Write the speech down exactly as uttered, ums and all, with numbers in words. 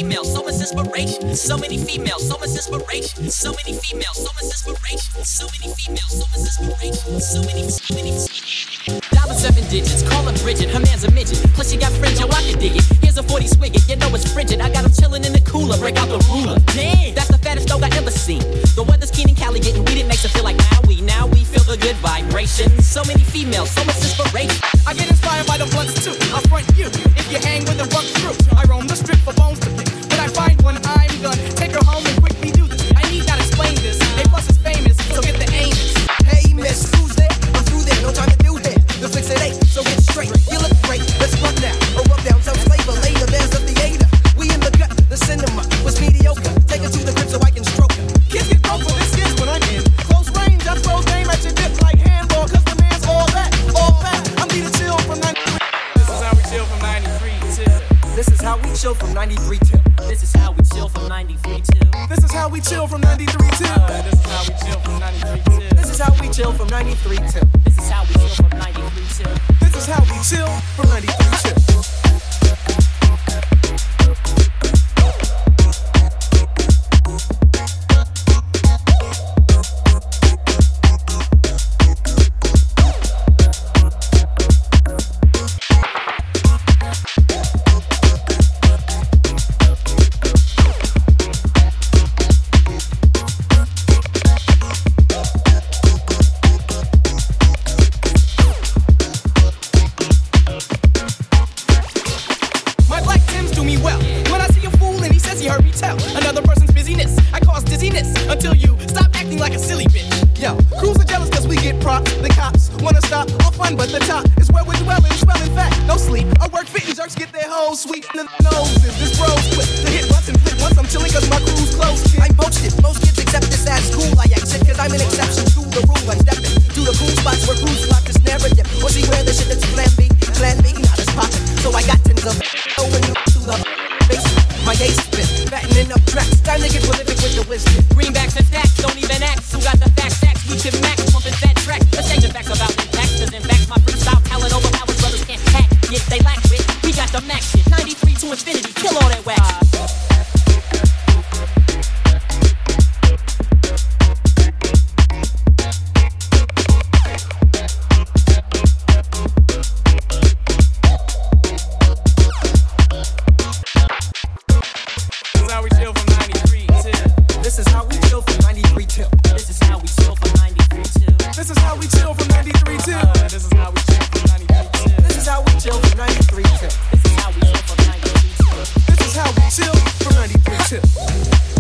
females, so much inspiration. So many females, so much inspiration. So many females, so much inspiration. So many females, so much inspiration. So many, so many. Diamond seven digits, call her Bridget, her man's a midget. Plus she got fringe, yo, I can dig it. Here's a forty swig it, you know it's frigid. I got him chillin' in the cooler, break out the ruler. Damn, that's the fattest dog I ever seen. The weather's keen and Cali getting weed, it makes it feel like now we, now we feel the good vibration. So many females, so much inspiration. I get inspired by the blunts too. I'll front you if you hang with the rough crew. I roam the strip for bones to pick. When I find one, I'm gonna take her home and quickly do this. I need not explain this. A plus is famous, so get the Amos. Hey miss, who's there? I'm through there, no time to do here. The fix it ain't, so get straight. You look great, let's run now. Or rub down, tell flavor later. There's the theater. We in the gut, the cinema was mediocre. Take her to the crib so I can stroke her. Kids get broke for this is when I'm in close range. I throw game at your dip like handball, cause the man's all that, all that. I'm need to chill from ninety-three. This is how we chill from ninety-three till. This is how we chill from ninety-three till. This is how we chill from ninety-three till. This is how we chill from ninety-three till. Uh, this is how we chill from ninety-three till. This is how we chill from ninety-three till. This is how we chill from ninety-three till. This is how we chill from ninety-three till. Until you stop acting like a silly bitch. Yo, crews are jealous cause we get props. The cops wanna stop all fun, but the top is where we're dwelling. Spelling fact, no sleep. I work fit and jerks get their hoes sweet in the noses. This bro's quick to hit once and flip once. I'm chilling cause my crew's close. I poached it. Most kids accept this as cool. I act shit cause I'm an exception to the rule. I'm stepping to the cool spots where crews flock to snare a dip. Or see where the shit that's plan B, plan B, not as poppin'. So I got tens of going to the base. My ace spit, fattening up tracks. Time to get prolific with the wisdom. Greenbacks and stacks, don't even act. Who got the facts? Stacks, we can max, pumping that track. Let's change the facts about impacts. Cause in fact, my freestyle talent overpowers brothers can't hack. Yet they lack wit, we got the max shit. ninety-three to infinity, kill all that wax. This is how we chill from ninety-three till. This is how we chill from ninety-three till. This is how we chill from ninety-three till. Uh, this is how we chill from ninety-three till. This is how we chill from ninety-three till. This is how we chill from ninety-three till. This is how we chill from ninety-three till.